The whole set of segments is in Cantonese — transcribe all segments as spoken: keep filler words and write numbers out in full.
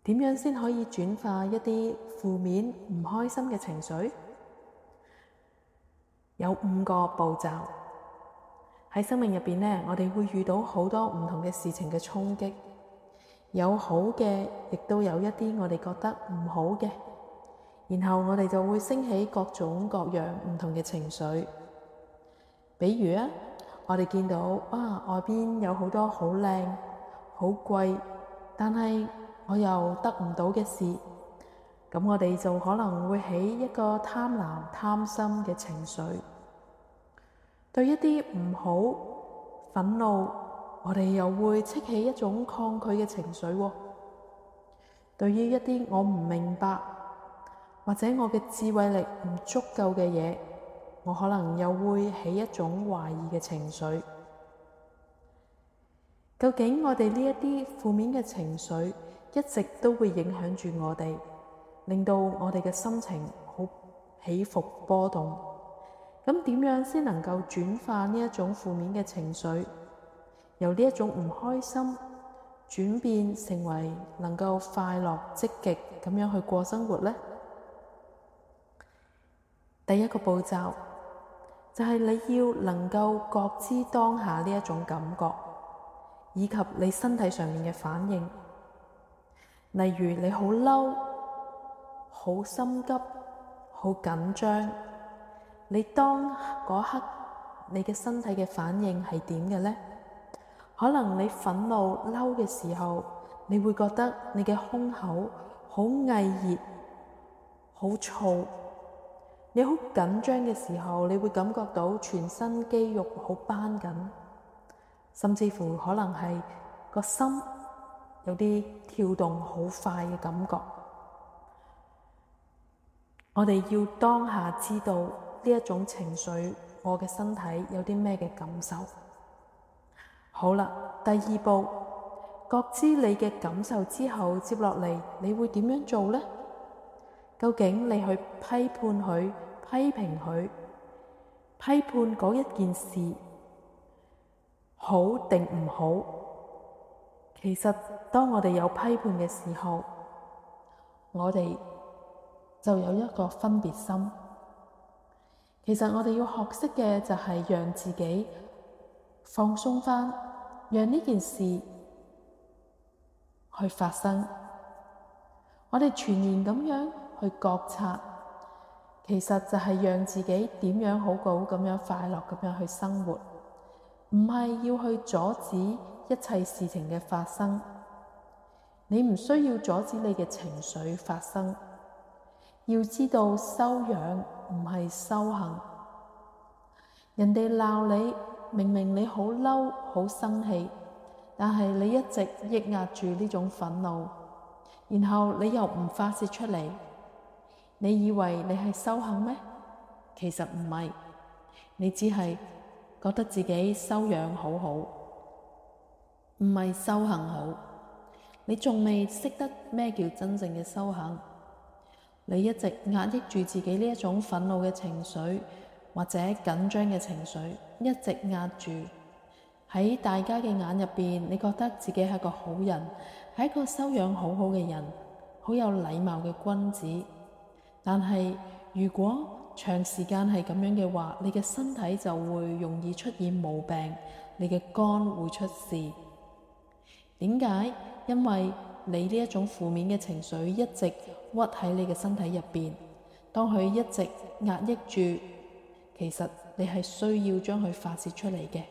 點樣先可以轉化一啲負面唔開心嘅情緒？有五個步驟。喺生命入邊呢，我哋會遇到好多唔同嘅事情嘅衝擊，有好嘅，亦都有一啲我哋覺得唔好嘅，然後我哋就會升起各種各樣唔同嘅情緒。比如啊，我哋見到啊外邊有好多好靚、好貴，但係我又得唔到嘅事，咁我哋就可能會起一個貪婪、貪心嘅情緒。對一啲唔好、憤怒，我哋又會激起一種抗拒嘅情緒喎。對於一啲我唔明白，或者我嘅智慧力唔足夠嘅嘢，我可能又會起一種懷疑嘅情緒。究竟我哋呢一啲負面嘅情緒一直都會影響住我哋，令到我哋嘅心情好起伏波動。咁點樣先能夠轉化呢一種負面嘅情緒，由呢一種唔開心轉變成為能夠快樂積極咁樣去過生活呢？第一個步驟就係你要能夠覺知當下呢一種感覺，以及你身體上面嘅反應。例如你好嬲、好心急、好緊張，你當嗰刻你嘅身體嘅反應係點嘅呢？可能你憤怒嬲嘅時候，你會覺得你嘅胸口好翳熱、好燥；你好緊張嘅時候，你會感覺到全身肌肉好繃緊，甚至乎可能係個心有啲跳動好快嘅感覺。我哋要當下知道呢一種情緒，我嘅身體有啲咩嘅感受。好啦，第二步，覺知你嘅感受之後，接落嚟你會點樣做呢？究竟你去批判佢、批評佢、批判嗰一件事好定唔好？其實當我哋有批判嘅時候，我哋就有一個分別心。其實我哋要學識嘅就係讓自己放鬆返，讓呢件事去發生。我哋全然咁樣去覺察，其實就係讓自己點樣好好咁樣快樂咁樣去生活，唔係要去阻止一切事情嘅發生。你唔需要阻止你嘅情緒發生，要知道修養唔係修行。人哋鬧你，明明你好嬲、好生氣，但係你一直抑壓住呢種憤怒，然後你又唔發洩出嚟，你以為你係修行咩？其實唔係，你只係覺得自己修養好好，唔係修行好。你仲未識得咩叫真正嘅修行。你一直壓抑住自己呢一種憤怒嘅情緒，或者緊張嘅情緒，一直壓住。喺大家嘅眼入邊，你覺得自己係個好人，係一個修養好好嘅人，好有禮貌嘅君子。但係如果長時間係咁樣嘅話，你嘅身體就會容易出現毛病，你嘅肝會出事。點解？因為你呢一種負面嘅情緒一直屈喺你嘅身體入邊，當佢一直壓抑住，其實你係需要將佢發洩出嚟嘅。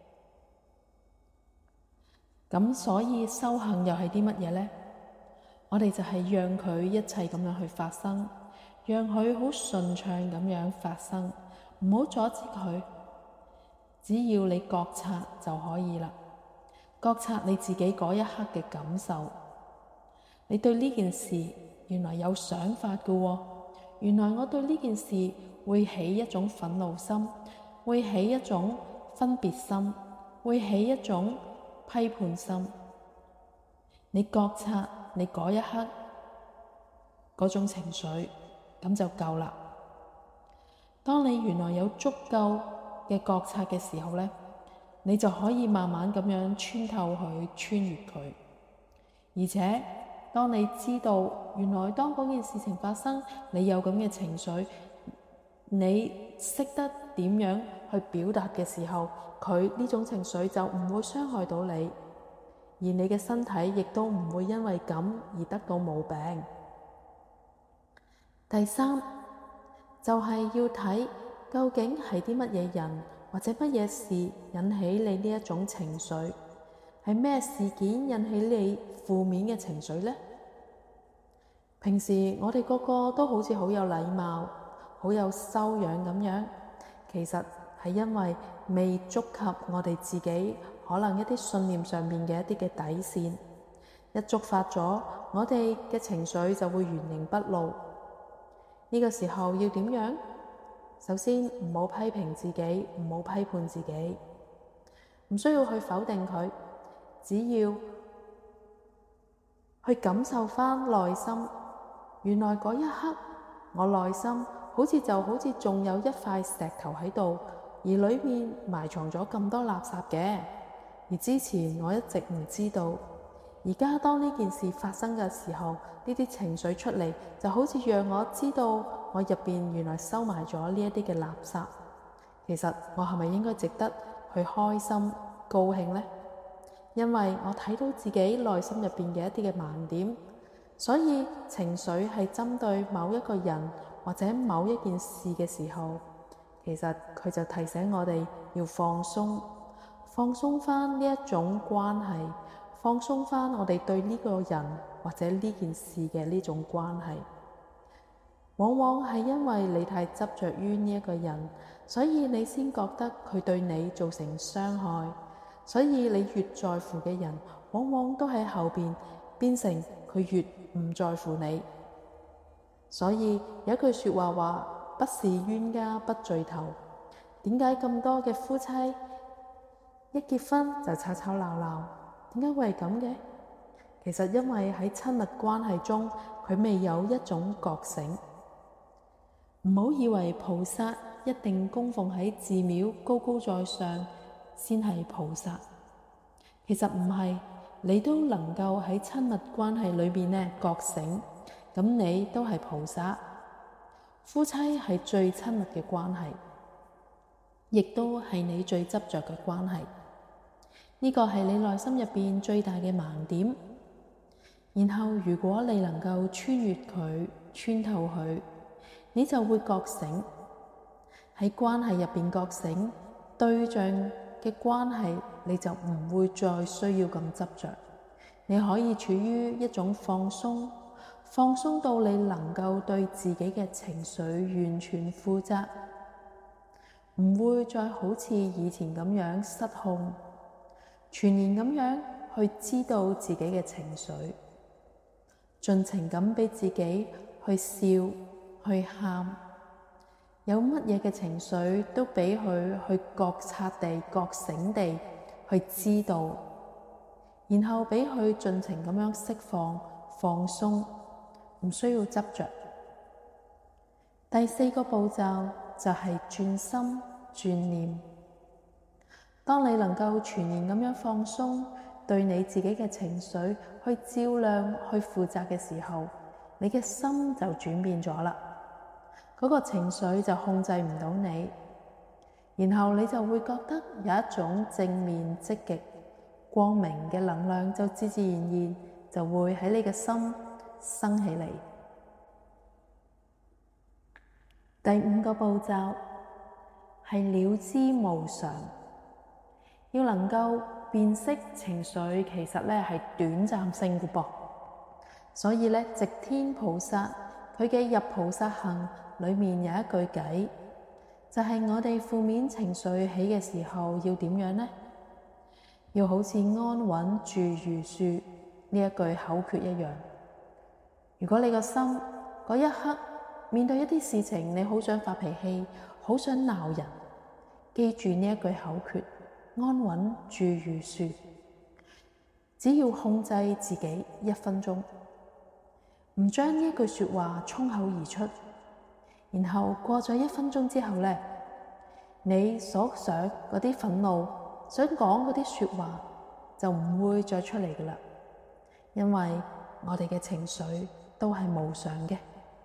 咁所以修行又係啲乜嘢呢？我哋就係讓佢一切咁樣去發生，讓佢好順暢咁樣發生，唔好阻止佢。只要你覺察就可以啦，覺察你自己嗰一刻嘅感受。你對呢件事原來有想法嘅喎，原來我對呢件事會起一種憤怒心，會起一種分別心，會起一種批判心。你覺察你嗰一刻嗰種情緒，咁就夠啦。當你原來有足夠嘅覺察嘅時候呢，你就可以慢慢咁樣穿透佢，穿越佢。而且當你知道原來當嗰件事情發生，你有咁嘅情緒，你識得點樣去表達嘅時候，佢呢種情緒就唔會傷害到你，而你嘅身體亦都唔會因為咁而得到毛病。第三就係要睇究竟係啲乜嘢人或者乜嘢事引起你呢一種情緒，係咩事件引起你負面嘅情緒呢？平時我哋個個都好似好有禮貌、好有修養咁樣，其實係因為未觸及我哋自己可能一啲信念上面嘅一啲嘅底線，一觸發咗，我哋嘅情緒就會原形畢露。呢個時候要點樣？首先唔好批評自己，唔好批判自己，唔需要去否定佢，只要去感受返內心。原來嗰一刻，我內心好似就好似仲有一塊石頭喺度，而裏面埋藏咗咁多垃圾嘅。而之前我一直唔知道，而家當呢件事發生嘅時候，呢啲情緒出嚟，就好似讓我知道我入邊原來收埋咗呢一啲嘅垃圾。其實我係咪應該值得去開心高興呢？因為我睇到自己內心入邊嘅一啲嘅盲點，所以情緒係針對某一個人或者某一件事嘅時候，其實佢就提醒我哋要放鬆，放鬆翻呢一種關係，放鬆翻我哋對呢個人或者呢件事嘅呢種關係。往往係因為你太執着於呢一個人，所以你先覺得佢對你造成傷害，所以你越在乎嘅人，往往都喺後邊變成佢越唔在乎你。所以有一句說話話，不是冤家不聚頭。點解咁多嘅夫妻一結婚就吵吵鬧鬧？點解會係咁嘅？其實因為喺親密關係中，佢未有一種覺醒。唔好以為菩薩一定供奉喺寺廟高高在上先係菩薩，其實唔係，你都能夠喺親密關係裏面呢覺醒，咁你都係菩薩。夫妻係最親密嘅關係，亦都係你最執着嘅關係。呢個係你內心入邊最大嘅盲點。然後如果你能夠穿越佢，穿透佢，你就會覺醒。喺關係入邊覺醒，對象嘅關係你就唔會再需要咁執着。你可以處於一種放鬆，放鬆到你能夠對自己嘅情緒完全負責，唔會再好似以前咁樣失控，全然咁樣去知道自己嘅情緒，盡情咁俾自己去笑，去喊，有乜嘢嘅情緒都俾佢去覺察地、覺醒地去知道，然後俾佢盡情咁樣釋放、放鬆，唔需要執着。第四個步驟就係轉心、轉念。當你能夠全然咁樣放鬆，對你自己嘅情緒去照亮、去負責嘅時候，你嘅心就轉變咗啦。嗰個情緒就控制唔到你，然後你就會覺得有一種正面、積極、光明嘅能量，就自自然然就會喺你嘅心生起嚟。第五個步驟係了知無常，要能夠辨識情緒其實咧係短暫性嘅噃。所以咧，寂天菩薩佢嘅入菩薩行裏面有一句偈，就係我哋負面情緒起嘅時候要點樣呢？要好似安穩住如樹呢一句口訣一樣。如果你個心嗰一刻面對一啲事情，你好想發脾氣，好想鬧人，記住呢一句口訣：安穩住如樹。只要控制自己一分鐘，唔將呢一句說話衝口而出，然後過咗一分鐘之後呢，你所想嗰啲憤怒，想講嗰啲說話就唔會再出嚟噶啦。因為我哋嘅情緒都係無常嘅。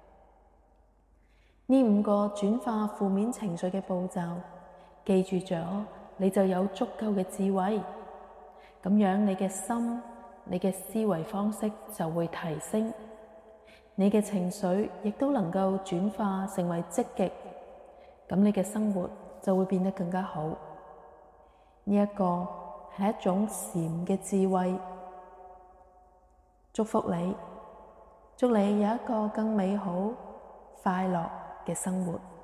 呢五個轉化負面情緒嘅步驟，記住咗，你就有足夠嘅智慧，咁樣你嘅心、你嘅思維方式就會提升，你嘅情緒亦都能夠轉化成為積極，咁你嘅生活就會變得更加好。呢一個係一種禪嘅智慧。祝福你，祝你有一個更美好、快樂嘅生活。